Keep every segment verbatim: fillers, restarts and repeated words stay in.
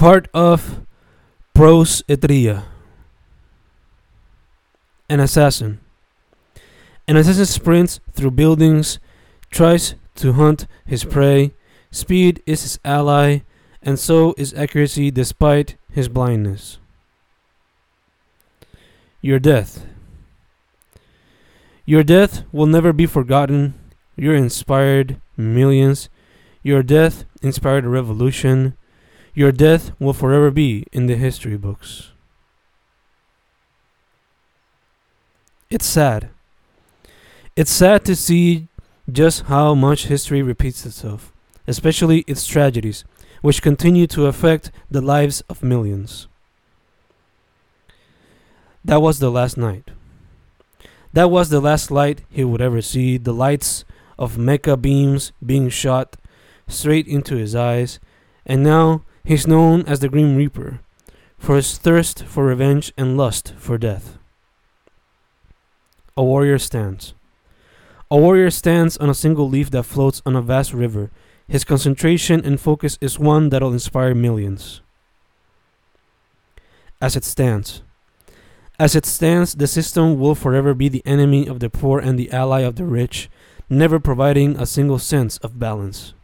Part of Pros Etria. An assassin. An assassin sprints through buildings, tries to hunt his prey. Speed is his ally, and so is accuracy despite his blindness. Your death. Your death will never be forgotten. Your inspired millions. Your death inspired a revolution. Your death will forever be in the history books. It's sad. It's sad to see just how much history repeats itself, especially its tragedies, which continue to affect the lives of millions. That was the last night. That was the last light he would ever see, the lights of mecha beams being shot straight into his eyes, and now he's known as the Grim Reaper for his thirst for revenge and lust for death. A warrior stands. A warrior stands on a single leaf that floats on a vast river. His concentration and focus is one that'll inspire millions. As it stands. As it stands, the system will forever be the enemy of the poor and the ally of the rich, never providing a single sense of balance.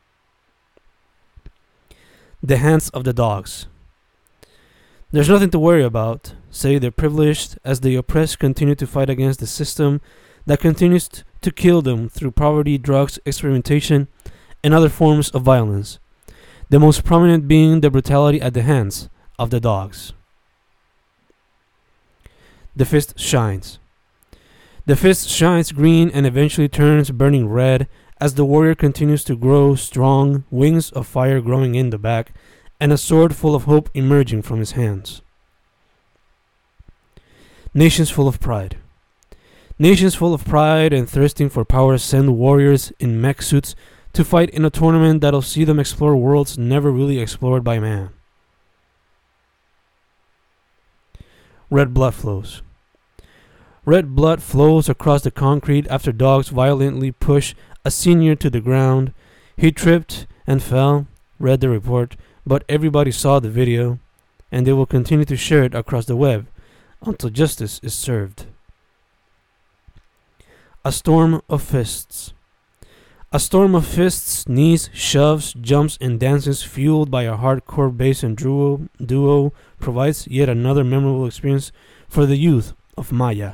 The hands of the dogs. There's nothing to worry about, say the privileged, as the oppressed continue to fight against the system that continues t- to kill them through poverty, drugs, experimentation, and other forms of violence, the most prominent being the brutality at the hands of the dogs. The fist shines. The fist shines green and eventually turns burning red as the warrior continues to grow strong, wings of fire growing in the back, and a sword full of hope emerging from his hands. Nations full of pride. Nations full of pride and thirsting for power send warriors in mech suits to fight in a tournament that'll see them explore worlds never really explored by man. Red blood flows. Red blood flows across the concrete after dogs violently push a senior to the ground. He tripped and fell, read the report, but everybody saw the video, and they will continue to share it across the web until justice is served. A storm of fists. A storm of fists, knees, shoves, jumps, and dances fueled by a hardcore bass and duo, duo provides yet another memorable experience for the youth of Maya.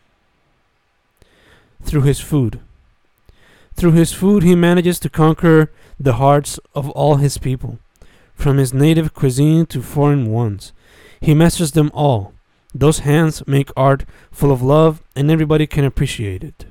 Through his food. Through his food he manages to conquer the hearts of all his people, from his native cuisine to foreign ones. He masters them all. Those hands make art full of love, and everybody can appreciate it.